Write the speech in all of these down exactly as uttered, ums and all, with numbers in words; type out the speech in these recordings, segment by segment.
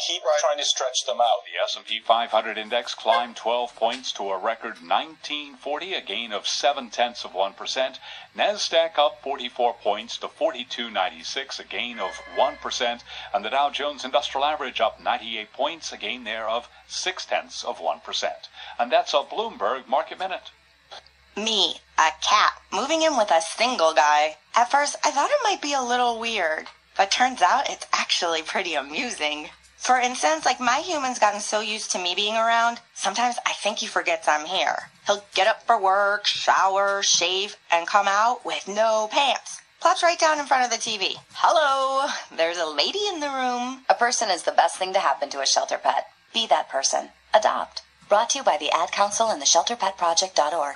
keep right. trying to stretch them out. The S and P five hundred index climbed twelve points to a record nineteen forty, a gain of seven tenths of one percent. NASDAQ up forty-four points to forty-two ninety-six, a gain of one percent. And the Dow Jones Industrial Average up ninety-eight points, a gain there of six tenths of one percent. And that's a Bloomberg Market Minute. Me, a cat, moving in with a single guy. At first, I thought it might be a little weird, but turns out it's actually pretty amusing. For instance, like my human's gotten so used to me being around, sometimes I think he forgets I'm here. He'll get up for work, shower, shave, and come out with no pants. Plops right down in front of the T V. Hello, there's a lady in the room. A person is the best thing to happen to a shelter pet. Be that person. Adopt. Brought to you by the Ad Council and the shelter pet project dot org.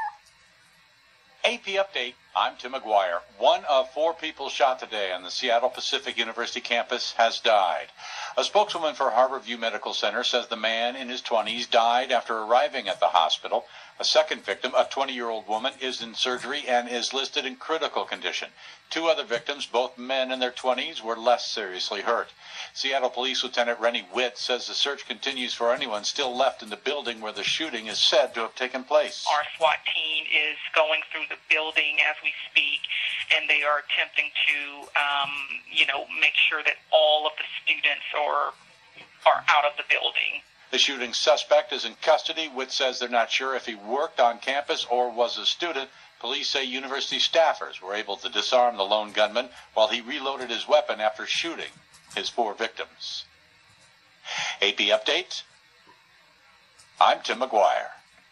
A P Update. I'm Tim McGuire. One of four people shot today on the Seattle Pacific University campus has died. A spokeswoman for Harborview Medical Center says the man in his twenties died after arriving at the hospital. A second victim, a twenty-year-old woman, is in surgery and is listed in critical condition. Two other victims, both men in their twenties, were less seriously hurt. Seattle Police Lieutenant Rennie Witt says the search continues for anyone still left in the building where the shooting is said to have taken place. Our SWAT team is going through the building as we speak, and they are attempting to, um, you know, make sure that all of the students are, are out of the building. The shooting suspect is in custody. Witt says they're not sure if he worked on campus or was a student. Police say university staffers were able to disarm the lone gunman while he reloaded his weapon after shooting his four victims. A P Update. I'm Tim McGuire.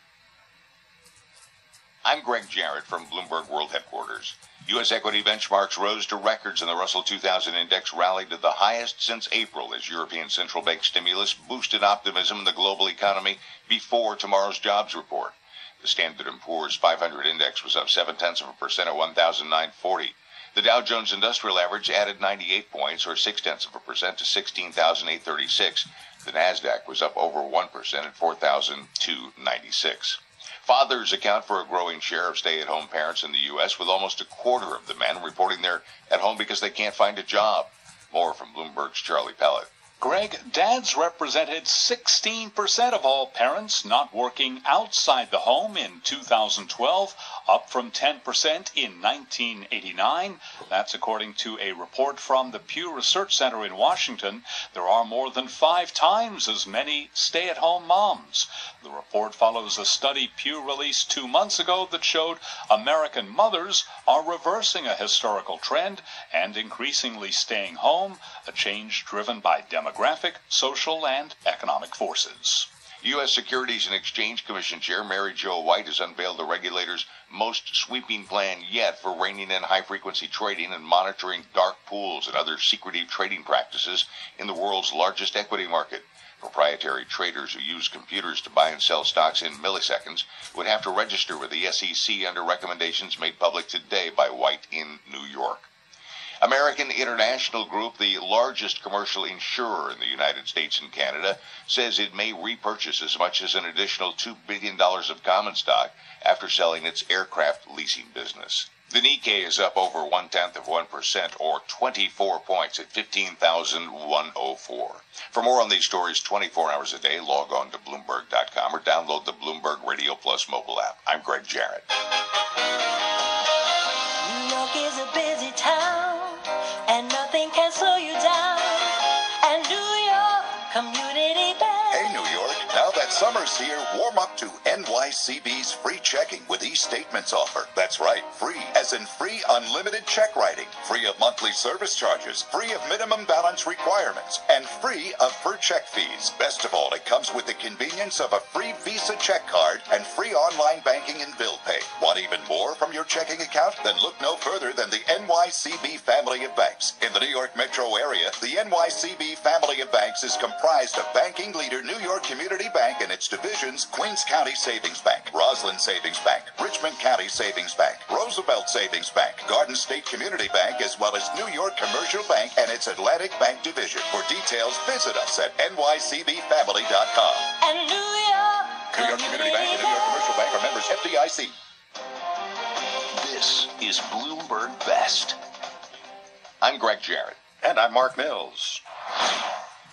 I'm Greg Jarrett from Bloomberg World Headquarters. U S equity benchmarks rose to records and the Russell two thousand index rallied to the highest since April as European central bank stimulus boosted optimism in the global economy before tomorrow's jobs report. The Standard and Poor's five hundred index was up seven tenths of a percent at one thousand nine hundred forty. The Dow Jones Industrial Average added ninety-eight points, or six tenths of a percent, to sixteen thousand eight hundred thirty-six. The Nasdaq was up over one percent at four thousand two hundred ninety-six. Fathers account for a growing share of stay-at-home parents in the U S, with almost a quarter of the men reporting they're at home because they can't find a job. More from Bloomberg's Charlie Pellet. Greg, dads represented sixteen percent of all parents not working outside the home in two thousand twelve, up from ten percent in nineteen eighty-nine. That's according to a report from the Pew Research Center in Washington. There are more than five times as many stay-at-home moms. The report follows a study Pew released two months ago that showed American mothers are reversing a historical trend and increasingly staying home, a change driven by demographics. Demographic, social, and economic forces. U S Securities and Exchange Commission Chair Mary Jo White has unveiled the regulator's most sweeping plan yet for reining in high-frequency trading and monitoring dark pools and other secretive trading practices in the world's largest equity market. Proprietary traders who use computers to buy and sell stocks in milliseconds would have to register with the S E C under recommendations made public today by White in New York. American International Group, the largest commercial insurer in the United States and Canada, says it may repurchase as much as an additional two billion dollars of common stock after selling its aircraft leasing business. The Nikkei is up over one-tenth of one percent, or twenty-four points, at fifteen thousand one hundred four. For more on these stories twenty-four hours a day, log on to Bloomberg dot com or download the Bloomberg Radio Plus mobile app. I'm Greg Jarrett. New York is a busy town, and nothing can slow you down. And New York Community Bank. Hey, New York, now that summer's here, warm up to N Y C B's free checking with e-statements offer. That's right, free, as in free unlimited check writing, free of monthly service charges, free of minimum balance requirements, and free of per check fees. Best of all, it comes with the convenience of a free Visa check card and free online banking and bill pay. Want even more from your checking account? Then look no further than the N Y C B family of banks. In the New York metro area, the N Y C B family of banks is comprised of banking leader New York Community Bank and its divisions, Queens County Savings Bank, Roslyn Savings Bank, Richmond County Savings Bank, Roosevelt Savings Bank, Garden State Community Bank, as well as New York Commercial Bank and its Atlantic Bank division. For details, visit us at N Y C B family dot com. And New York New York Community Bank and New York Commercial Bank are members F D I C. This is Bloomberg Best. I'm Greg Jarrett. And I'm Mark Mills.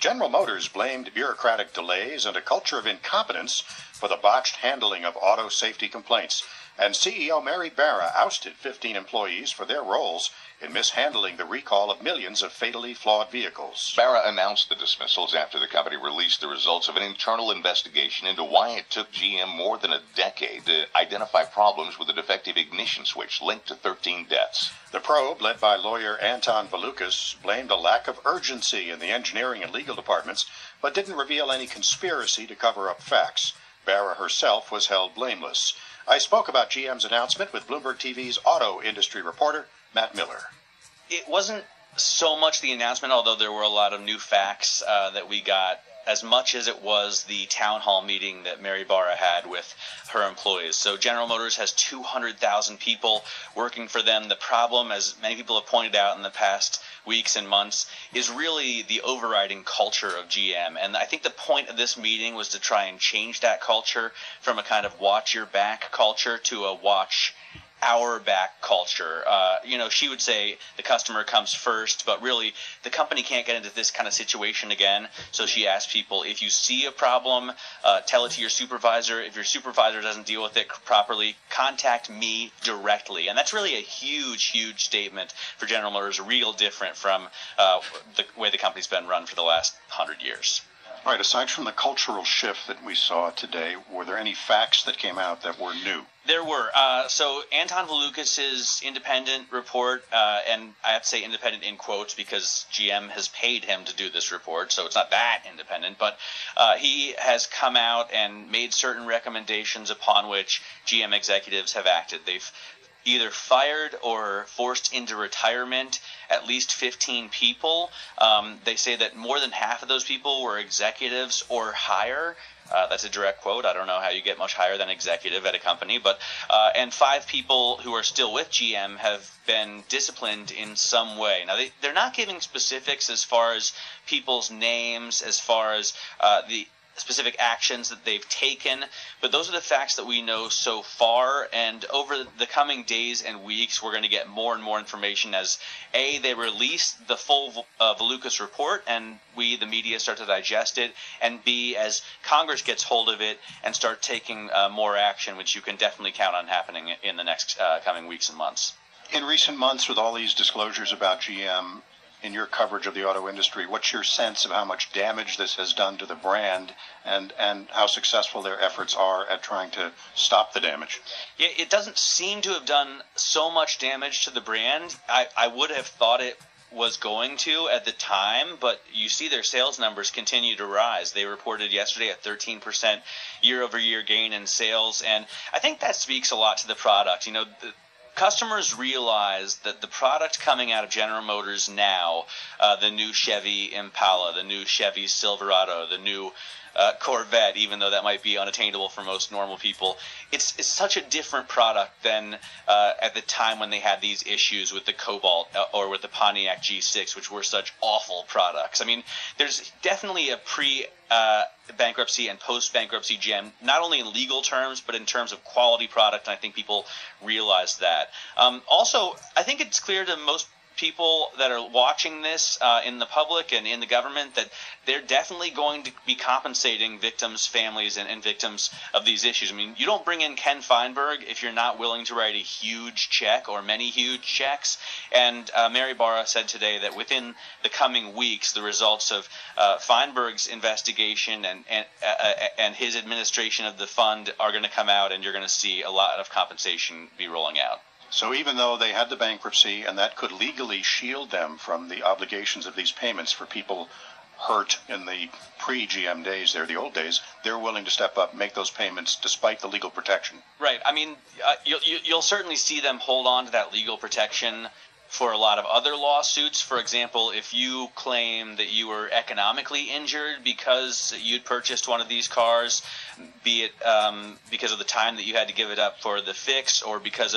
General Motors blamed bureaucratic delays and a culture of incompetence for the botched handling of auto safety complaints. And C E O Mary Barra ousted fifteen employees for their roles in mishandling the recall of millions of fatally flawed vehicles. Barra announced the dismissals after the company released the results of an internal investigation into why it took G M more than a decade to identify problems with a defective ignition switch linked to thirteen deaths. The probe, led by lawyer Anton Valukas, blamed a lack of urgency in the engineering and legal departments, but didn't reveal any conspiracy to cover up facts. Barra herself was held blameless. I spoke about G M's announcement with Bloomberg T V's auto industry reporter, Matt Miller. It wasn't so much the announcement, although there were a lot of new facts uh, that we got, as much as it was the town hall meeting that Mary Barra had with her employees. So General Motors has two hundred thousand people working for them. The problem, as many people have pointed out in the past weeks and months, is really the overriding culture of G M. And I think the point of this meeting was to try and change that culture from a kind of watch your back culture to a watch our back culture. Uh, you know, she would say the customer comes first, but really the company can't get into this kind of situation again. So she asked people, if you see a problem, uh, tell it to your supervisor. If your supervisor doesn't deal with it properly, contact me directly. And that's really a huge, huge statement for General Motors, real different from uh, the way the company's been run for the last hundred years. All right, aside from the cultural shift that we saw today, were there any facts that came out that were new? There were. Uh, so Anton Valukas' independent report, uh, and I have to say independent in quotes because G M has paid him to do this report, so it's not that independent, but uh, he has come out and made certain recommendations upon which G M executives have acted. They've either fired or forced into retirement at least fifteen people. Um, they say that more than half of those people were executives or higher. Uh, that's a direct quote. I don't know how you get much higher than executive at a company, but uh, and five people who are still with G M have been disciplined in some way. Now, they, they're not giving specifics as far as people's names, as far as uh, the specific actions that they've taken, but those are the facts that we know so far, and over the coming days and weeks we're going to get more and more information as A, they release the full uh, Valukas report and we, the media, start to digest it, and B, as Congress gets hold of it and start taking uh, more action, which you can definitely count on happening in the next uh, coming weeks and months. In recent months, with all these disclosures about G M, in your coverage of the auto industry, what's your sense of how much damage this has done to the brand and, and how successful their efforts are at trying to stop the damage? Yeah, it doesn't seem to have done so much damage to the brand. I, I would have thought it was going to at the time, but you see their sales numbers continue to rise. They reported yesterday a thirteen percent year-over-year gain in sales, and I think that speaks a lot to the product. You know, the customers realize that the product coming out of General Motors now, uh, the new Chevy Impala, the new Chevy Silverado, the new uh, Corvette, even though that might be unattainable for most normal people, it's it's such a different product than uh, at the time when they had these issues with the Cobalt uh, or with the Pontiac G six, which were such awful products. I mean, there's definitely a pre uh, bankruptcy and post-bankruptcy G M, not only in legal terms, but in terms of quality product, and I think people realize that. Um, also, I think it's clear to most people that are watching this uh, in the public and in the government that they're definitely going to be compensating victims' families and, and victims of these issues. I mean, you don't bring in Ken Feinberg if you're not willing to write a huge check or many huge checks. And uh, Mary Barra said today that within the coming weeks, the results of uh, Feinberg's investigation and and, uh, and his administration of the fund are going to come out, and you're going to see a lot of compensation be rolling out. So even though they had the bankruptcy and that could legally shield them from the obligations of these payments for people hurt in the pre-G M days, there, the old days, they're willing to step up and make those payments despite the legal protection. Right. I mean, uh, you'll, you'll certainly see them hold on to that legal protection for a lot of other lawsuits. For example, if you claim that you were economically injured because you'd purchased one of these cars, be it um, because of the time that you had to give it up for the fix or because of the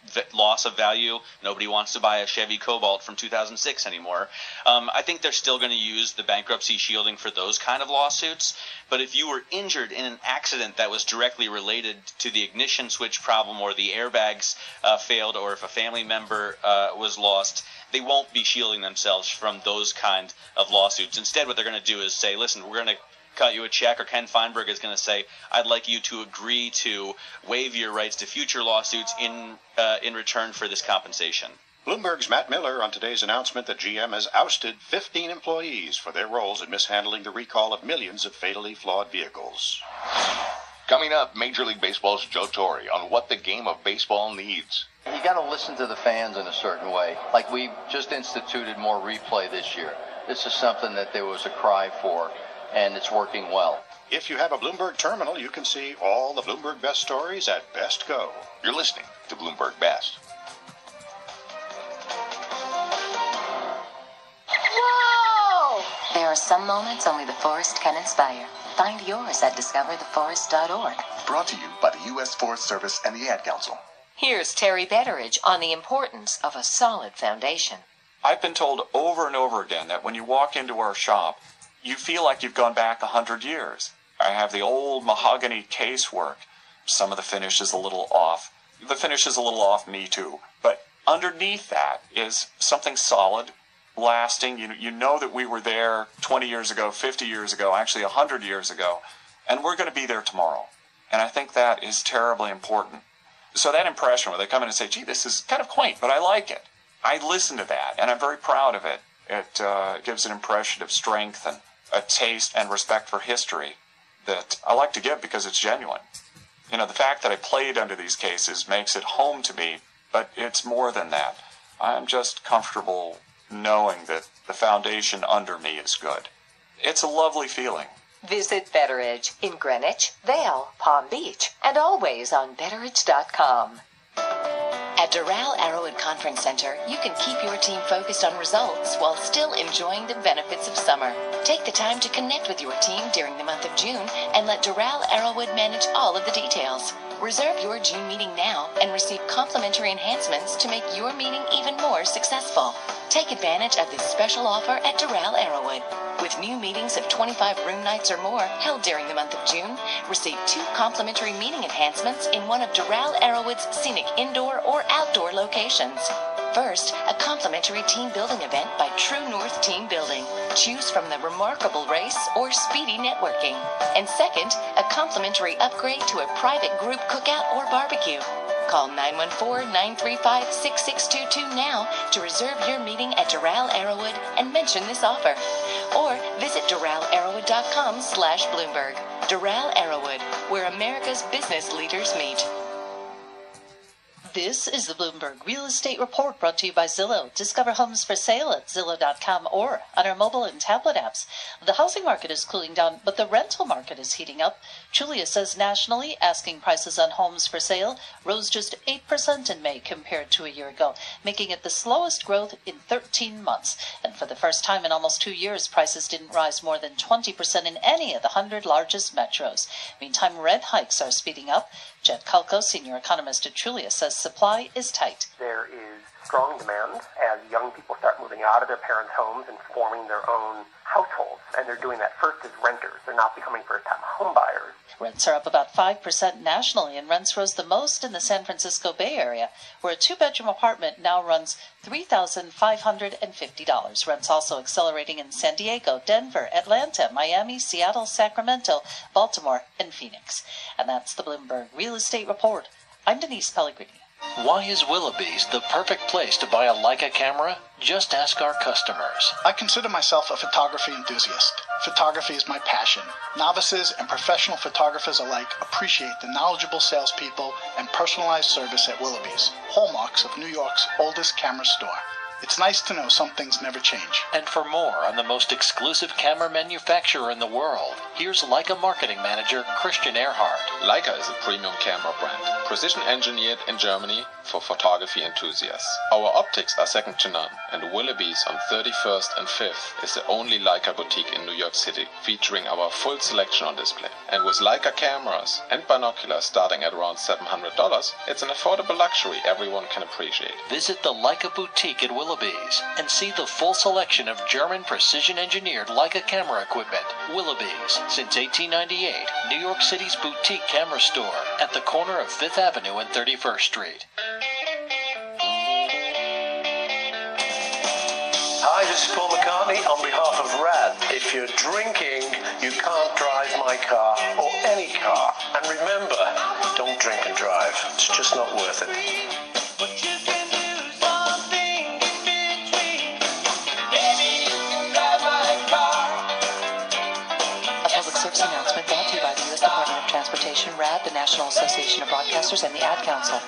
v- loss of value. Nobody wants to buy a Chevy Cobalt from two thousand six anymore. Um, I think they're still going to use the bankruptcy shielding for those kind of lawsuits. But if you were injured in an accident that was directly related to the ignition switch problem, or the airbags uh, failed, or if a family member uh, was lost, they won't be shielding themselves from those kind of lawsuits. Instead, what they're going to do is say, listen, we're going to cut you a check, or Ken Feinberg is going to say, I'd like you to agree to waive your rights to future lawsuits in uh, in return for this compensation. Bloomberg's Matt Miller on today's announcement that G M has ousted fifteen employees for their roles in mishandling the recall of millions of fatally flawed vehicles. Coming up, Major League Baseball's Joe Torre on what the game of baseball needs. You got to listen to the fans in a certain way. Like we just instituted more replay this year. This is something that there was a cry for, and it's working well. If you have a Bloomberg terminal, you can see all the Bloomberg Best stories at Best Go. You're listening to Bloomberg Best. Whoa! There are some moments only the forest can inspire. Find yours at discover the forest dot org. Brought to you by the U S Forest Service and the Ad Council. Here's Terry Betteridge on the importance of a solid foundation. I've been told over and over again that when you walk into our shop, you feel like you've gone back a hundred years. I have the old mahogany casework. Some of the finish is a little off. The finish is a little off me too. But underneath that is something solid, lasting. You, you know that we were there twenty years ago, fifty years ago, actually one hundred years ago, and we're going to be there tomorrow. And I think that is terribly important. So that impression where they come in and say, gee, this is kind of quaint, but I like it. I listen to that, and I'm very proud of it. It uh, gives an impression of strength and a taste and respect for history that I like to give because it's genuine. You know, the fact that I played under these cases makes it home to me, but it's more than that. I'm just comfortable knowing that the foundation under me is good. It's a lovely feeling. Visit Betteridge in Greenwich, Vail, Palm Beach, and always on Betteridge dot com. At Doral Arrowwood Conference Center, you can keep your team focused on results while still enjoying the benefits of summer. Take the time to connect with your team during the month of June and let Doral Arrowwood manage all of the details. Reserve your June meeting now and receive complimentary enhancements to make your meeting even more successful. Take advantage of this special offer at Doral Arrowwood. With new meetings of twenty-five room nights or more held during the month of June, receive two complimentary meeting enhancements in one of Doral Arrowwood's scenic indoor or outdoor locations. First, a complimentary team building event by True North Team Building. Choose from the Remarkable Race or Speedy Networking. And second, a complimentary upgrade to a private group cookout or barbecue. Call nine one four, nine three five, six six two two now to reserve your meeting at Doral Arrowwood and mention this offer. Or visit Doral Arrowwood dot com slash Bloomberg. Doral Arrowwood, where America's business leaders meet. This is the Bloomberg Real Estate Report brought to you by Zillow. Discover homes for sale at Zillow dot com or on our mobile and tablet apps. The housing market is cooling down, but the rental market is heating up. Julia says nationally, asking prices on homes for sale rose just eight percent in May compared to a year ago, making it the slowest growth in thirteen months. And for the first time in almost two years, prices didn't rise more than twenty percent in any of the one hundred largest metros. Meantime, rent hikes are speeding up. Jed Kalko, senior economist at Trulia, says supply is tight. There is strong demand as young people start moving out of their parents' homes and forming their own households. And they're doing that first as renters. They're not becoming first-time home buyers. Rents are up about five percent nationally, and rents rose the most in the San Francisco Bay Area, where a two-bedroom apartment now runs three thousand five hundred fifty dollars. Rents also accelerating in San Diego, Denver, Atlanta, Miami, Seattle, Sacramento, Baltimore, and Phoenix. And that's the Bloomberg Real Estate Report. I'm Denise Pellegrini. Why is Willoughby's the perfect place to buy a Leica camera? Just ask our customers. I consider myself a photography enthusiast. Photography is my passion. Novices and professional photographers alike appreciate the knowledgeable salespeople and personalized service at Willoughby's, hallmarks of New York's oldest camera store. It's nice to know some things never change. And for more on the most exclusive camera manufacturer in the world, here's Leica Marketing Manager Christian Ehrhardt. Leica is a premium camera brand, precision engineered in Germany for photography enthusiasts. Our optics are second to none, and Willoughby's on thirty-first and fifth is the only Leica boutique in New York City, featuring our full selection on display. And with Leica cameras and binoculars starting at around seven hundred dollars, it's an affordable luxury everyone can appreciate. Visit the Leica boutique at Willoughby's and see the full selection of German precision-engineered Leica camera equipment. Willoughby's, since eighteen ninety-eight, New York City's boutique camera store at the corner of Fifth Avenue and thirty-first Street. Hi, this is Paul McCartney on behalf of RAD. If you're drinking, you can't drive my car or any car. And remember, don't drink and drive. It's just not worth it. A public service announcement brought to you by the U S Department of Transportation, RAD, the National Association of Broadcasters, and the Ad Council.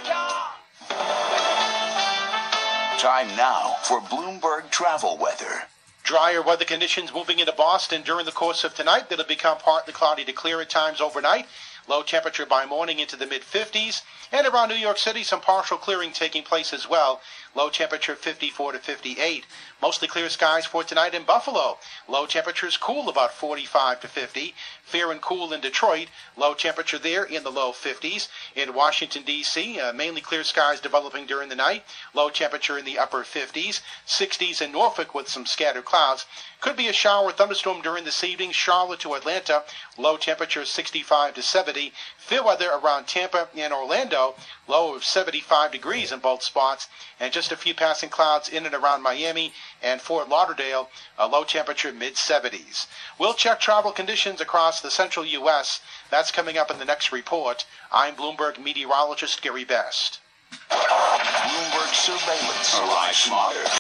Time now for Bloomberg travel weather. Drier weather conditions moving into Boston during the course of tonight. It'll become partly cloudy to clear at times overnight. Low temperature by morning into the mid-fifties. And around New York City, some partial clearing taking place as well. Low temperature fifty-four to fifty-eight. Mostly clear skies for tonight in Buffalo. Low temperatures cool about forty-five to fifty. Fair and cool in Detroit. Low temperature there in the low fifties. In Washington, D C, uh, mainly clear skies developing during the night. Low temperature in the upper fifties. sixties in Norfolk with some scattered clouds. Could be a shower or thunderstorm during this evening. Charlotte to Atlanta. Low temperature sixty-five to seventy. Fair weather around Tampa and Orlando. Low of seventy-five degrees in both spots. And just a few passing clouds in and around Miami and Fort Lauderdale. A low temperature mid seventies. We'll check travel conditions across the central U S. That's coming up in the next report. I'm Bloomberg meteorologist Gary Best. Bloomberg surveillance. Arrive smarter.